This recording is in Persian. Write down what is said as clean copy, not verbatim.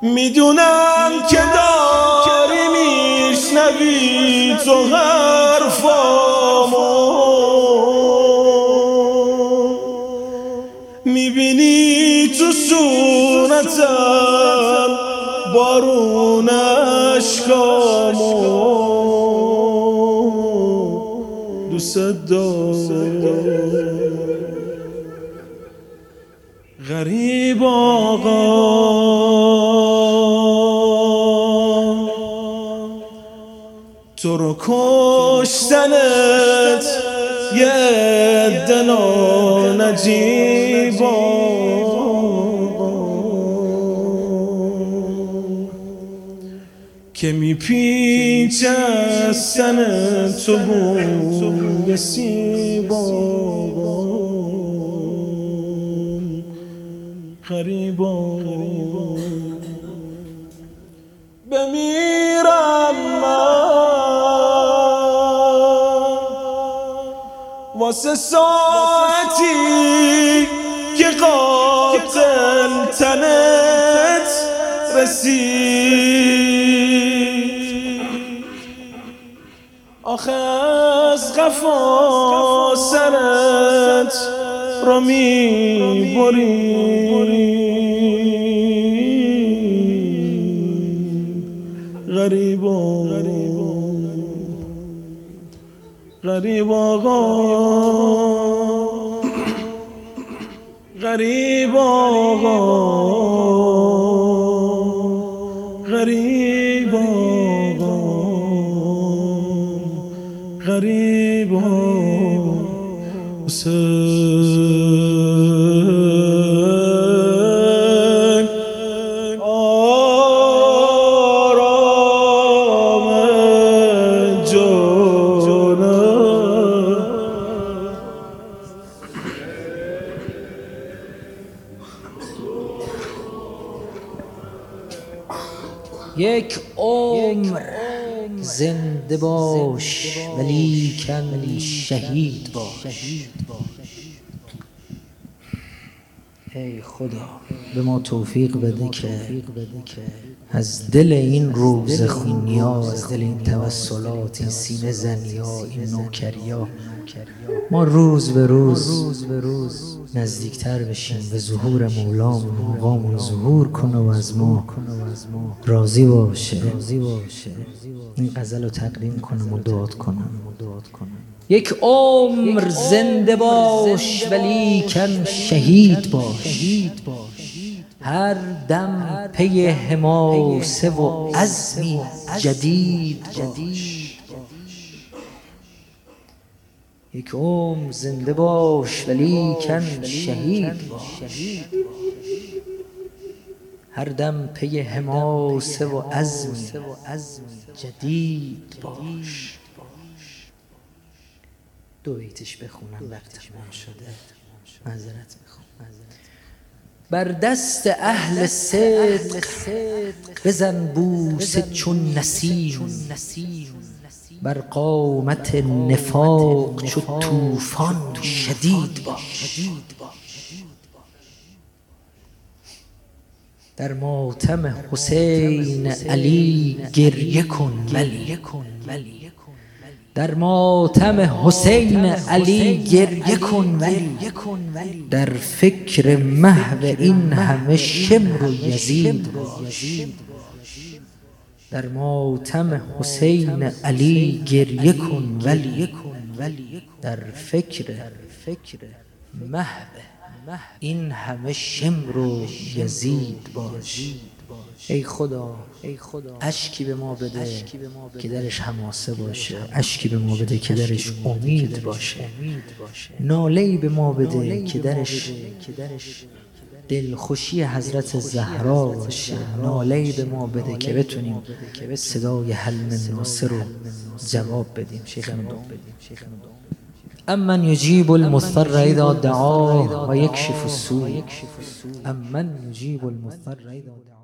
میدونم که داری میشنوی تو حرفامو، میبینی تو صورتم بارون اشکامو. دوست دارم غریب آقا، تو رو کشتنت یه عده نجیبا، که میپیچه از سن تو بوی سیبا. غریبا بمیرم من واسه ساعتی که قاتل تنت رسید. آخه از قفا سرت رو میبری. غریب آقا، غریب آقا، غریب آقا، غریب حسین آرام جانم. یک عمر زنده باش ولیکن شهید باش. ای خدا به ما توفیق بده که از دل این روز خونیا، از دل این توسلات، این سینه زنیا، این نوکریا، ما روز به روز نزدیکتر بشیم به ظهور مولامون. آقامون ظهور کنه و از ما راضی باشه. این غزل رو تقدیم کنم و دعات کنم. یک عمر زنده باش ولیکن شهید باش. هر دم پی حماسه و عزمی جدید باش. یک عمر زنده باش ولیکن شهید باش. هر دم پی حماسه و عزمی جدید باش. دو بیتش بخونم وقت تمام شده، معذرت میخوام. بر دست اهل صدق بزن بوسه چون نسیم، بر قامت نفاق چو طوفان شدید باش. در ماتم حسین علی گریه کن ولی، در ماتم حسین علی گریه کن ولی، در فکر محو این همه شمر و یزید باش. در ماتم حسین علی گریه کن ولی، در فکر محو این همه شمر و یزید باش. ای خدا اشکی به ما بده که درش حماسه باشه، اشکی به ما بده که درش امید باشه، ناله‌ای به ما بده که درش دلخوشی حضرت زهرا باشه، ناله‌ای به ما بده که بتونیم صدای حل من ناصر رو جواب بدیم. شیخنا دعا امن یجیب المضطر اذا دعاه و یکشف السوء. امن یجیب المضطر اذا دعاه.